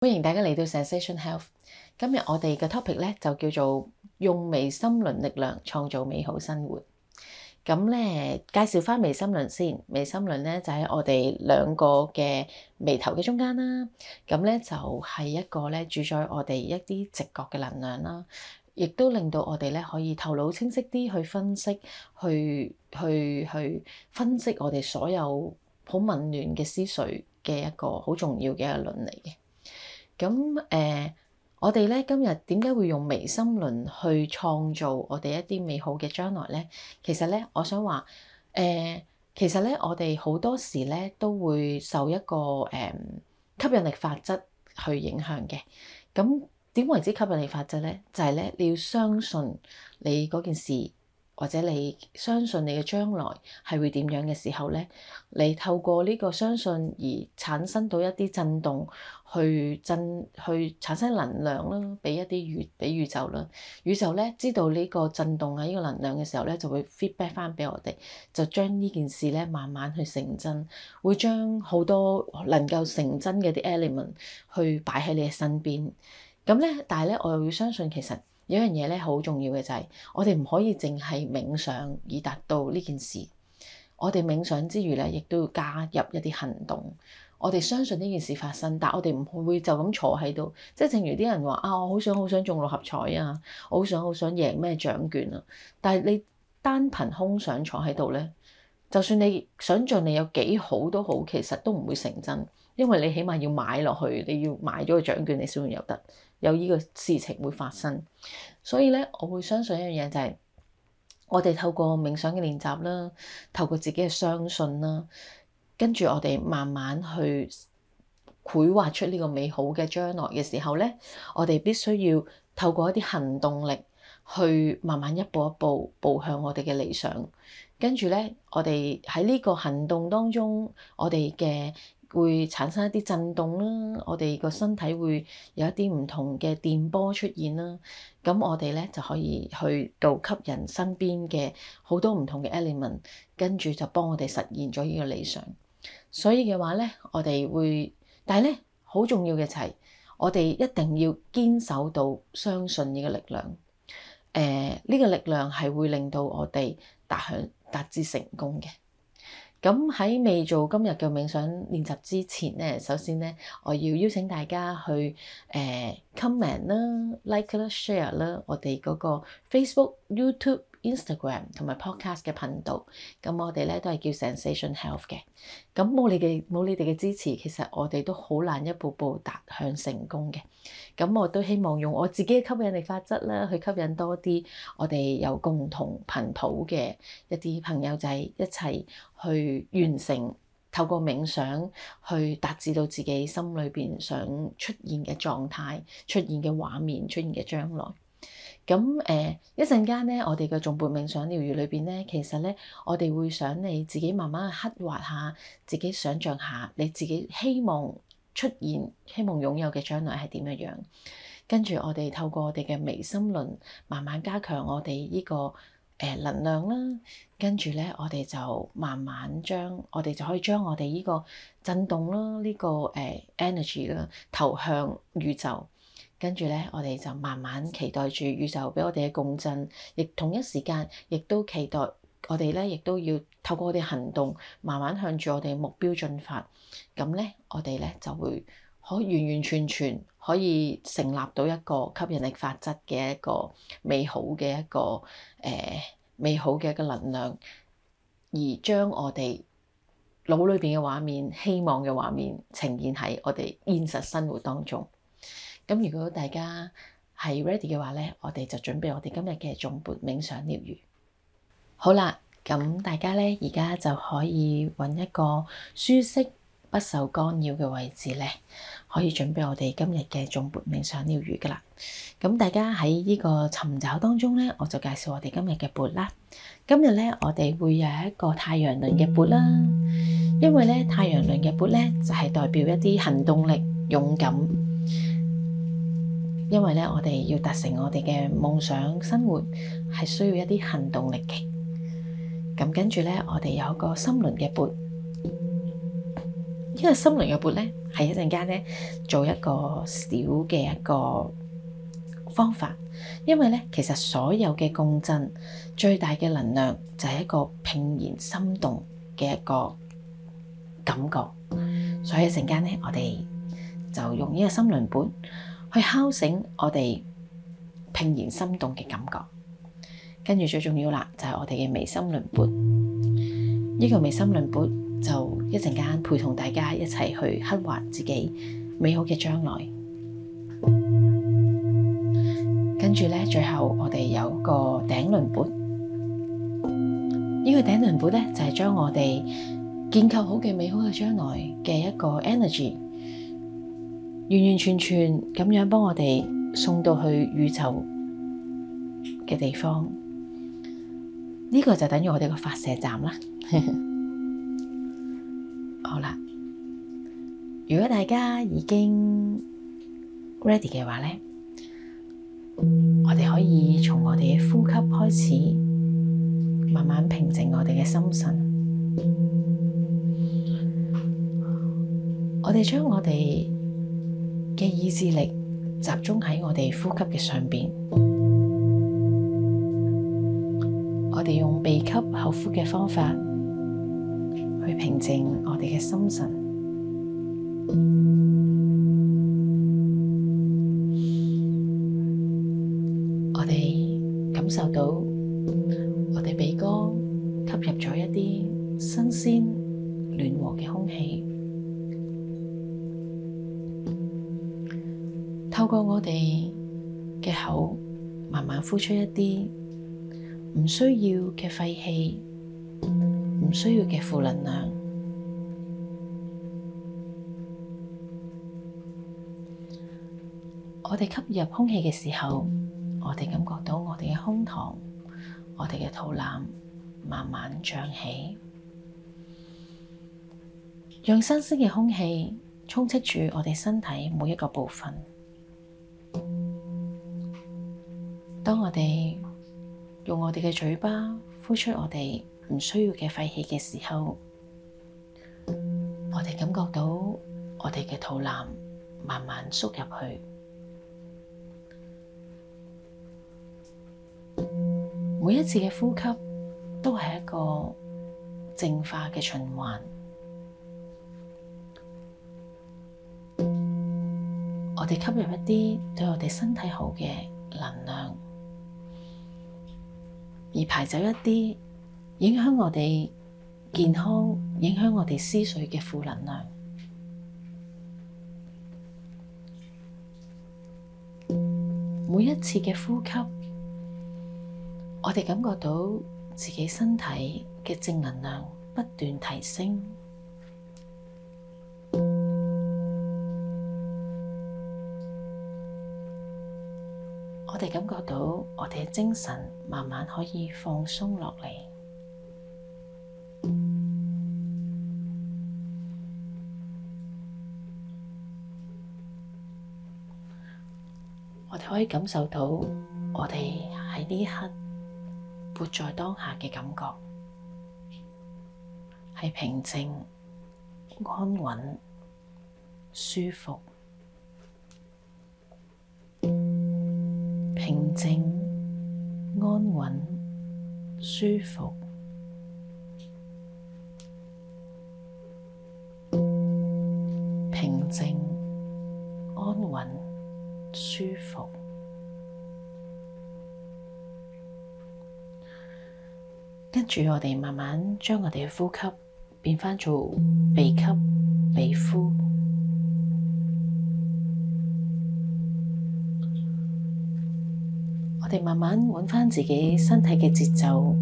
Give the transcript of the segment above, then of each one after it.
歡迎大家嚟到 Zensation Health。今日我哋嘅 topic 咧就叫做用微心輪力量創造美好生活。咁咧介紹翻微心輪先，微心輪咧就喺我哋兩個嘅眉頭嘅中間啦。咁咧就係一個咧主宰我哋一啲直覺嘅能量啦，亦都令到我哋咧可以頭腦清晰啲去分析，去分析我哋所有好紊亂嘅思緒嘅一個好重要嘅一個輪嚟嘅。咁我哋咧今日點解會用微心輪去創造我哋一啲美好嘅將來咧？其實咧，我想話其實咧，我哋好多時咧都會受一個吸引力法則去影響嘅。咁點為之吸引力法則咧？就係咧，你要相信你嗰件事，或者你相信你嘅將來係會點樣嘅時候咧，你透過呢個相信而產生到一啲震動，去產生能量啦，俾一啲俾宇宙啦。宇宙咧知道呢個震動啊，呢個能量嘅時候咧，就會 feedback 翻俾我哋，就將呢件事咧慢慢去成真，會將好多能夠成真嘅啲 element 去擺喺你嘅身邊。咁咧，但係咧，我又要相信其實有一樣嘢咧好重要嘅就係，我哋唔可以淨係冥想以達到呢件事。我哋冥想之餘咧，亦都要加入一啲行動。我哋相信呢件事發生，但我哋唔會就咁坐喺度。即係正如啲人話啊，我好想中六合彩啊，我好想贏咩獎券啊。但係你單憑空想坐喺度咧，就算你想像你有幾好都好，其實都唔會成真，因為你起碼要買落去，你要買咗個獎券，你先會有呢個事情會發生。所以咧，我會相信一樣嘢就係，我哋透過冥想嘅練習啦，透過自己嘅相信啦。跟住我哋慢慢去繪畫出呢個美好嘅將來嘅時候咧，我哋必須要透過一啲行動力去慢慢一步一步步向我哋嘅理想。跟住咧，我哋喺呢個行動當中，我哋嘅會產生一啲震動啦，我哋個身體會有一啲唔同嘅電波出現啦。咁我哋咧就可以去到吸引身邊嘅好多唔同嘅 element， 跟住就幫我哋實現咗呢個理想。所以嘅話咧，我哋會，但係咧好重要嘅就係，我哋一定要堅守到相信呢個力量。呢個力量係會令到我哋達至成功嘅。咁喺未做今日嘅冥想練習之前咧，首先咧，我要邀請大家去comment 啦、like 啦、share 啦，我哋嗰個 Facebook、YouTube、Instagram 同埋 Podcast 嘅頻道。咁我哋咧都係叫 Zensation Health 嘅。咁冇你哋嘅支持，其實我哋都好難一步步達向成功嘅。咁我都希望用我自己嘅吸引力法則啦，去吸引多啲我哋有共同頻譜嘅一啲朋友仔一齊去完成，透過冥想去達至到自己心裏邊想出現嘅狀態、出現嘅畫面、出現嘅將來。咁一陣間咧，我哋嘅頌缽冥想療癒裏邊咧，其實咧我哋會想你自己慢慢去刻畫下，自己想像下你自己希望出現、希望擁有嘅將來係點樣樣。跟住我哋透過我哋嘅微心輪，慢慢加強我哋呢個能量啦。跟住咧，我哋就慢慢我哋就可以將我哋呢個震動啦，呢個energy 啦，投向宇宙。跟住咧，我哋就慢慢期待住宇宙俾我哋嘅共振，亦同一時間亦都期待我哋咧，亦都要透過我哋行動，慢慢向住我哋目標進發。咁咧，我哋咧就會完完全全可以成立到一個吸引力法則嘅一個美好嘅一個能量，而將我哋腦裏邊嘅畫面、希望嘅畫面呈現喺我哋現實生活當中。咁如果大家係 ready 嘅話咧，我哋就準備我哋今日嘅頌缽冥想療癒。好啦，咁大家咧而家就可以揾一個舒適、不受干擾嘅位置咧，可以準備我哋今日嘅頌缽冥想療癒噶啦。咁大家喺呢個尋找當中咧，我就介紹我哋今日嘅缽啦。今日咧，我哋會有一個太陽輪嘅缽啦，因為咧太陽輪嘅缽咧就係代表一啲行動力、勇敢。因為咧，我哋要達成我哋嘅夢想生活，係需要一啲行動力嘅。咁跟住咧，我哋有一個心輪嘅缽， 呢個心輪嘅缽咧，係一陣間咧做一個小嘅一個方法，因為咧其實所有嘅共振最大嘅能量就係一個怦然心動嘅一個感覺，所以一陣間咧我哋就用呢個心輪缽去敲醒我哋怦然心動嘅感覺，跟住最重要啦就係我哋嘅微心輪缽，呢個微心輪缽就一陣間陪同大家一齊去刻畫自己美好嘅將來。跟住咧，最後我哋有個頂輪缽，呢個頂輪缽咧就係將我哋建構好嘅美好嘅將來嘅一個 energy，完完全全咁樣幫我哋送到去宇宙嘅地方。呢個就等於我哋個發射站啦。好啦，如果大家已經 ready 嘅話咧，我哋可以從我哋嘅呼吸開始，慢慢平靜我哋嘅心神。我哋將我哋嘅意志力集中喺我哋呼吸嘅上邊。我哋用鼻吸口呼嘅方法去平靜我哋嘅心神。我哋感受到我哋鼻哥吸入咗一啲新鮮暖和嘅空氣，透過我哋嘅口慢慢呼出一啲唔需要嘅廢氣，唔需要嘅負能量。我哋吸入空氣嘅時候，我哋感覺到我哋嘅胸膛、我哋嘅肚腩慢慢脹起，讓新鮮嘅空氣充斥住我哋身體每一個部分。當我哋用我哋嘅嘴巴呼出我哋唔需要嘅廢氣嘅時候，我哋感覺到我哋嘅肚腩慢慢縮入去。每一次嘅呼吸都係一個淨化嘅循環。我哋吸入一啲對我哋身體好嘅能量，而排走一啲影響我哋健康、影響我哋思緒嘅負能量。每一次嘅呼吸，我哋感覺到自己身體嘅正能量不斷提升，我哋感覺到我哋嘅精神慢慢可以放鬆落嚟，我哋可以感受到我哋喺呢一刻活在當下嘅感覺，係平靜、安穩、舒服。平靜、安穩、舒服。平靜、安穩、舒服。跟住我哋慢慢將我哋嘅呼吸變返做鼻吸鼻呼，我哋慢慢揾返自己身體嘅節奏，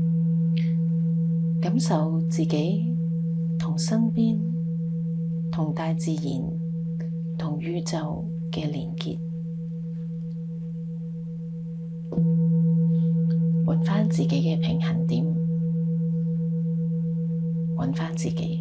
感受自己同身邊、同大自然、同宇宙嘅連結，揾返自己嘅平衡點，揾返自己。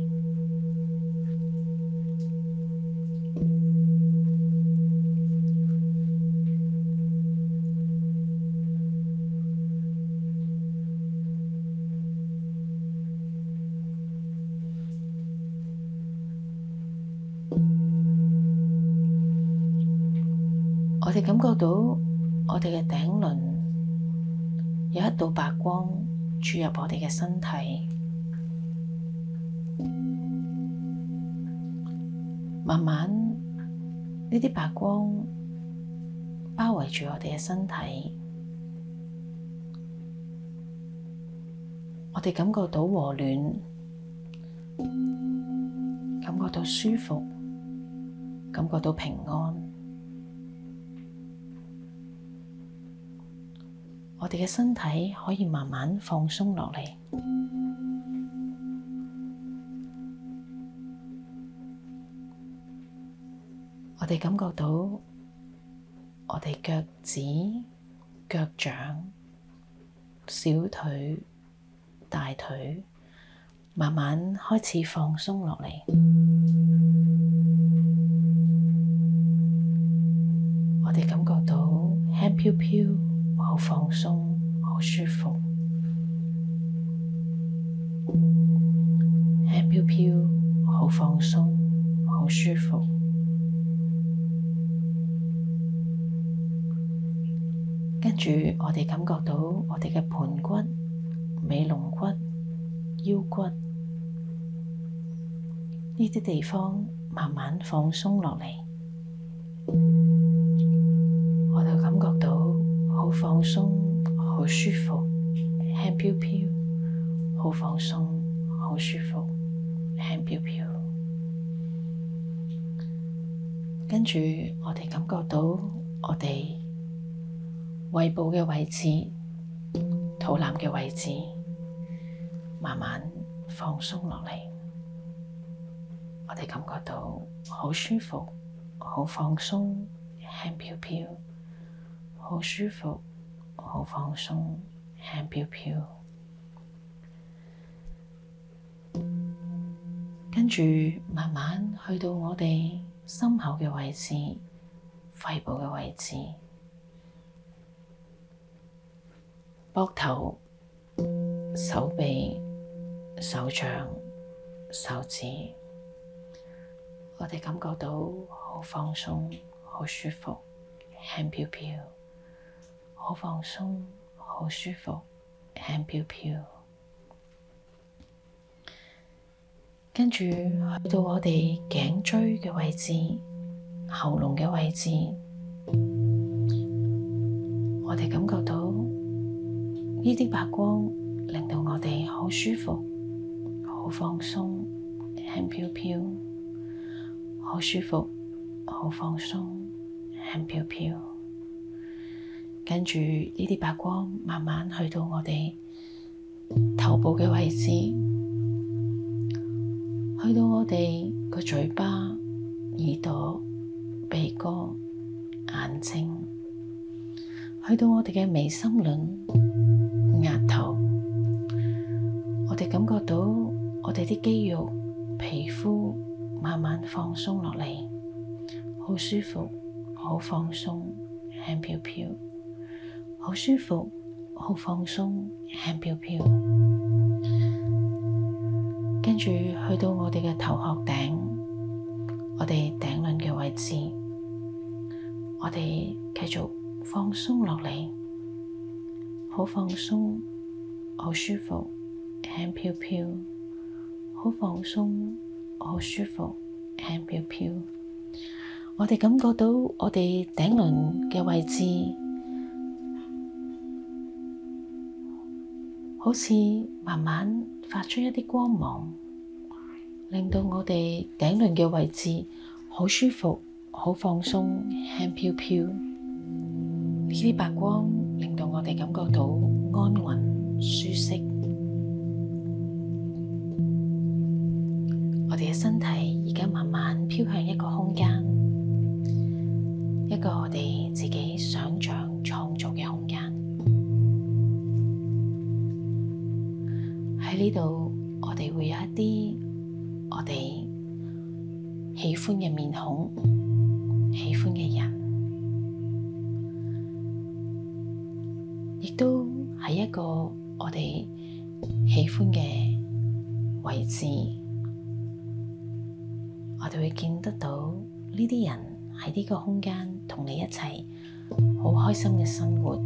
我哋感覺到我哋嘅頂輪有一道白光注入我哋嘅身體，慢慢呢啲白光包圍住我哋嘅身體，我哋感覺到和暖，感覺到舒服，感覺到平安。我哋嘅身體可以慢慢放鬆落嚟，我哋感覺到我哋腳趾、腳掌、小腿、大腿慢慢開始放鬆落嚟，我哋感覺到輕飄飄，好放鬆，好舒服，輕飄飄，好放鬆，好舒服。跟住我哋感覺到我哋嘅盤骨、尾龍骨、腰骨呢啲地方慢慢放鬆落嚟，我哋感覺到好放鬆，好舒服，輕飄飄，好放鬆，好舒服，輕飄飄。跟住我哋感覺到我哋胃部嘅位置、肚腩嘅位置慢慢放鬆落嚟，我哋感覺到好舒服，好放鬆，輕飄飄，好舒服，好放鬆，輕飄飄。跟住慢慢去到我哋心口嘅位置、肺部嘅位置、膊頭、手臂、手掌、手指，我哋感覺到好放鬆，好舒服，輕飄飄，好放鬆，好舒服，輕飄飄。跟住去到我哋頸椎嘅位置、喉嚨嘅位置，我哋感覺到呢啲白光令到我哋好舒服、好放鬆、輕飄飄，好舒服、好放鬆、輕飄飄。跟住呢啲白光慢慢去到我哋頭部嘅位置，去到我哋個嘴巴、耳朵、鼻哥、眼睛，去到我哋嘅眉心輪、額頭，我哋感覺到我哋啲肌肉、皮膚慢慢放鬆落嚟，好舒服，好放鬆，輕飄飄，好舒服，好放鬆，輕飄飄。跟住去到我哋嘅頭殼頂，我哋頂輪嘅位置，我哋繼續放鬆落嚟，好放鬆，好舒服，輕飄飄，好放鬆，好舒服，輕飄飄。我哋感覺到我哋頂輪嘅位置好似慢慢發出一啲光芒，令到我哋頂輪嘅位置好舒服、好放鬆、輕飄飄。呢啲白光令到我哋感覺到安穩、舒適。我哋嘅身體而家慢慢飄向一個空間，一個我哋自己想象創造嘅空間。喺呢度，我哋會有一啲我哋喜歡嘅面孔、喜歡嘅人，亦都係一個我哋喜歡嘅位置。我哋會見得到呢啲人喺呢個空間同你一齊好開心嘅生活。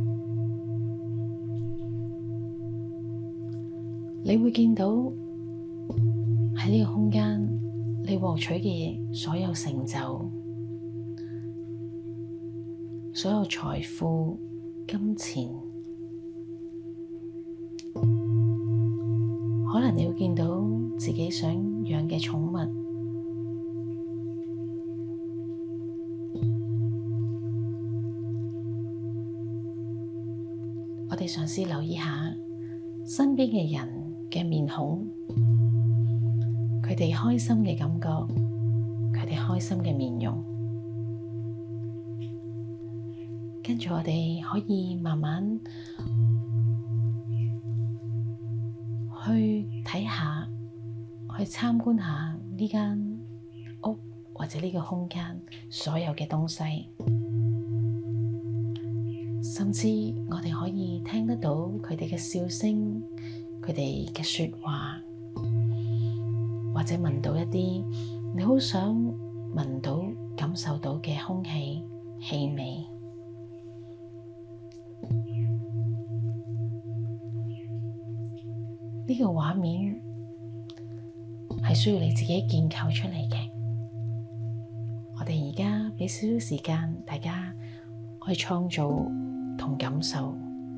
你會見到喺呢個空間你獲取嘅所有成就、所有財富、金錢，可能你會見到自己想養嘅寵物。我哋嘗試留意下身邊嘅人嘅面孔，佢哋開心嘅感覺，佢哋開心嘅面容。跟住我哋可以慢慢去睇下，去參觀下呢間屋或者呢個空間所有嘅東西，甚至我哋可以聽得到佢哋嘅笑聲，佢哋嘅說話，或者聞到一啲你好想聞到、感受到嘅空氣、氣味。呢個畫面係需要你自己建構出嚟嘅。我哋而家畀少少時間大家去創造同感受。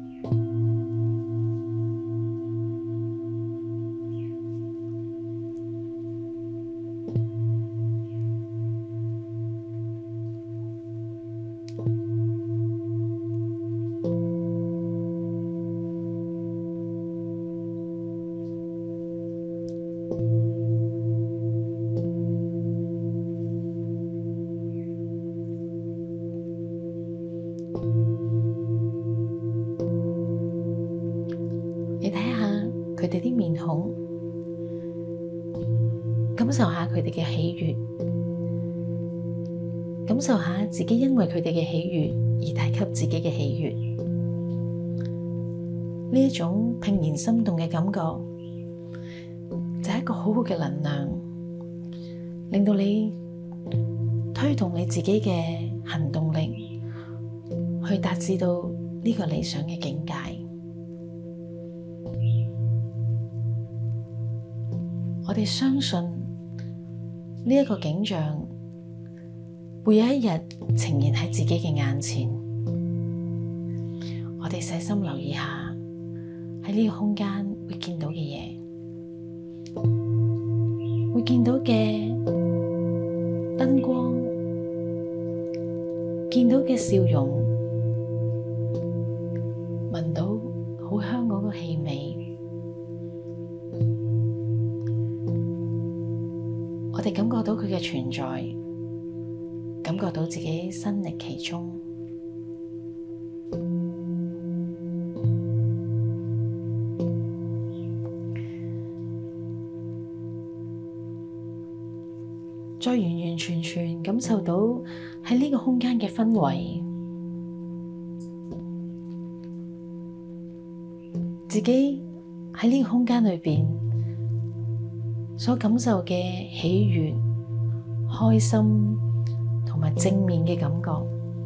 你睇下佢哋啲面孔，感受下佢哋嘅喜悅，感受下自己因為佢哋嘅喜悅而帶給自己嘅喜悅。呢一種怦然心動嘅感覺，就係一個好好嘅能量，令到你推動你自己嘅行動力，去達至到呢個理想嘅境界。我哋相信呢一個景象會有一日呈現喺自己嘅眼前。我哋細心留意下喺呢個空間會見到嘅嘢，會見到嘅燈光，見到嘅笑容，聞到好香嗰個氣味。我哋感覺到佢嘅存在，感覺到自己身歷其中。再完完全全感受到喺呢個空間嘅氛圍，自己喺呢個空間裏邊所感受嘅喜悅、開心同埋正面嘅感覺。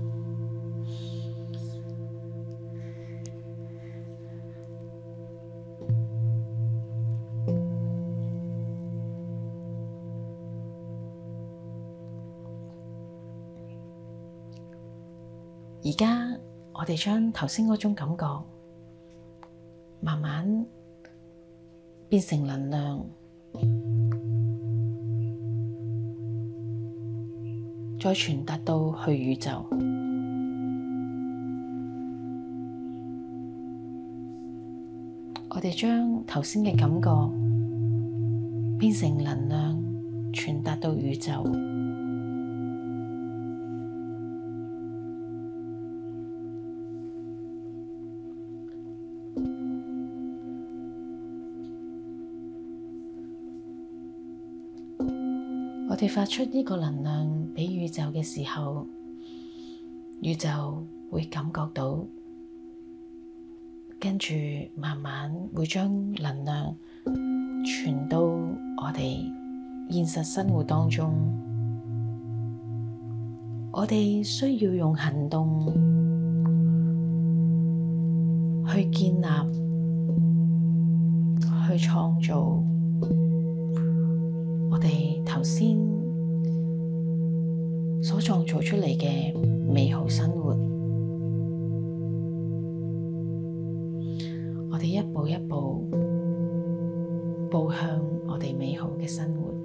而家我哋將頭先嗰種感覺慢慢變成能量，再傳達到去宇宙。我哋將頭先嘅感覺變成能量，傳達到宇宙。我哋發出呢個能量畀宇宙嘅時候，宇宙會感覺到，跟住慢慢會將能量傳到我哋現實生活當中。 我哋需要用行動去建立、去創造我哋頭先所創造出嚟嘅美好生活。我哋一步一步步向我哋美好嘅生活。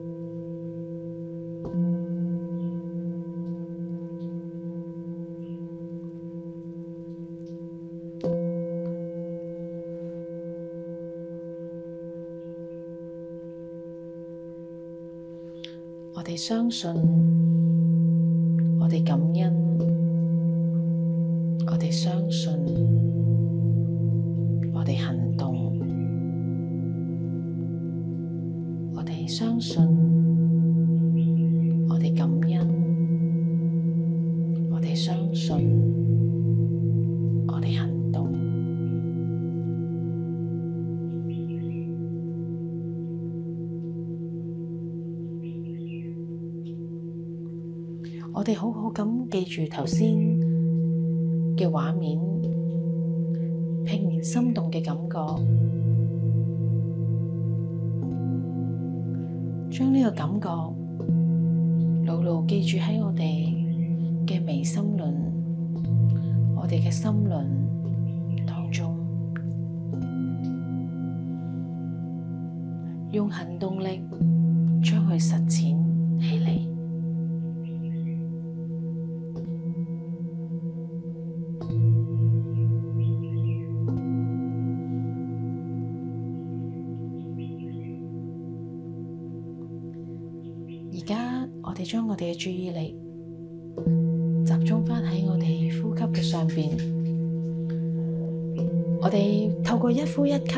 我哋相信，我哋感恩，我哋相信，我哋行動，我哋相信，我哋感恩，我哋相信，我哋行動。我哋好好咁記住頭先嘅畫面，怦然心動嘅感覺，將呢個感覺牢牢記住喺我哋嘅微心輪，我哋嘅心輪當中，用行動力將佢實踐起嚟。而家我哋將我哋嘅注意力集中返喺我哋呼吸嘅上邊，我哋透過一呼一吸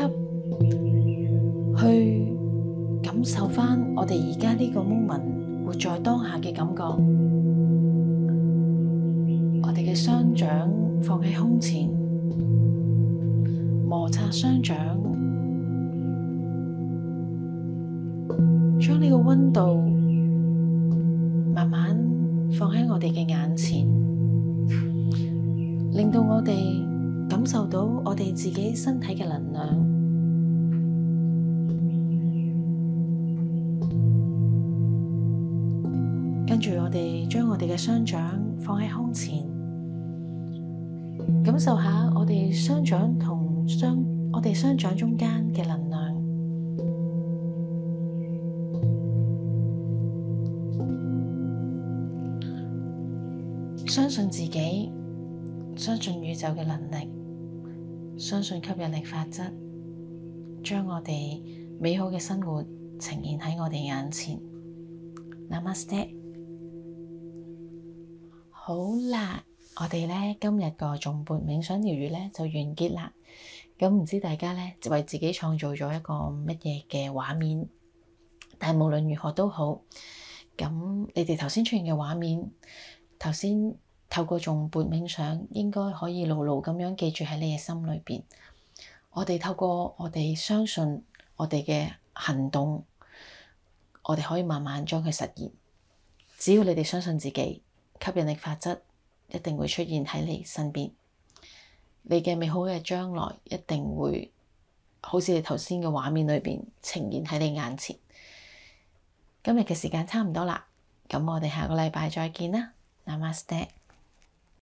去感受返我哋而家呢個 moment 活在當下嘅感覺。我哋嘅雙掌放喺胸前，摩擦雙掌，將呢個溫度慢慢放喺我哋嘅眼前，令到我哋感受到我哋自己身體嘅能量。跟住我哋將我哋嘅雙掌放喺胸前，感受下我哋雙掌同我哋雙掌中間嘅能量。相信自己，相信宇宙嘅能力，相信吸引力法則，將我哋美好嘅生活呈現喺我哋眼前。Namaste。好啦，我哋咧今日個頌缽冥想療癒咧就完結啦。咁唔知大家咧就為自己創造咗一個乜嘢嘅畫面？但係無論如何都好，咁你哋頭先出現嘅畫面，頭先透過頌缽冥想，應該可以牢牢咁樣記住喺你嘅心裏邊。我哋透過我哋相信我哋嘅行動，我哋可以慢慢將佢實現。只要你哋相信自己，吸引力法則一定會出現喺你身邊。你嘅美好嘅將來一定會好似你頭先嘅畫面裏邊呈現喺你眼前。今日嘅時間差唔多啦，咁我哋下個禮拜再見啦。Namaste。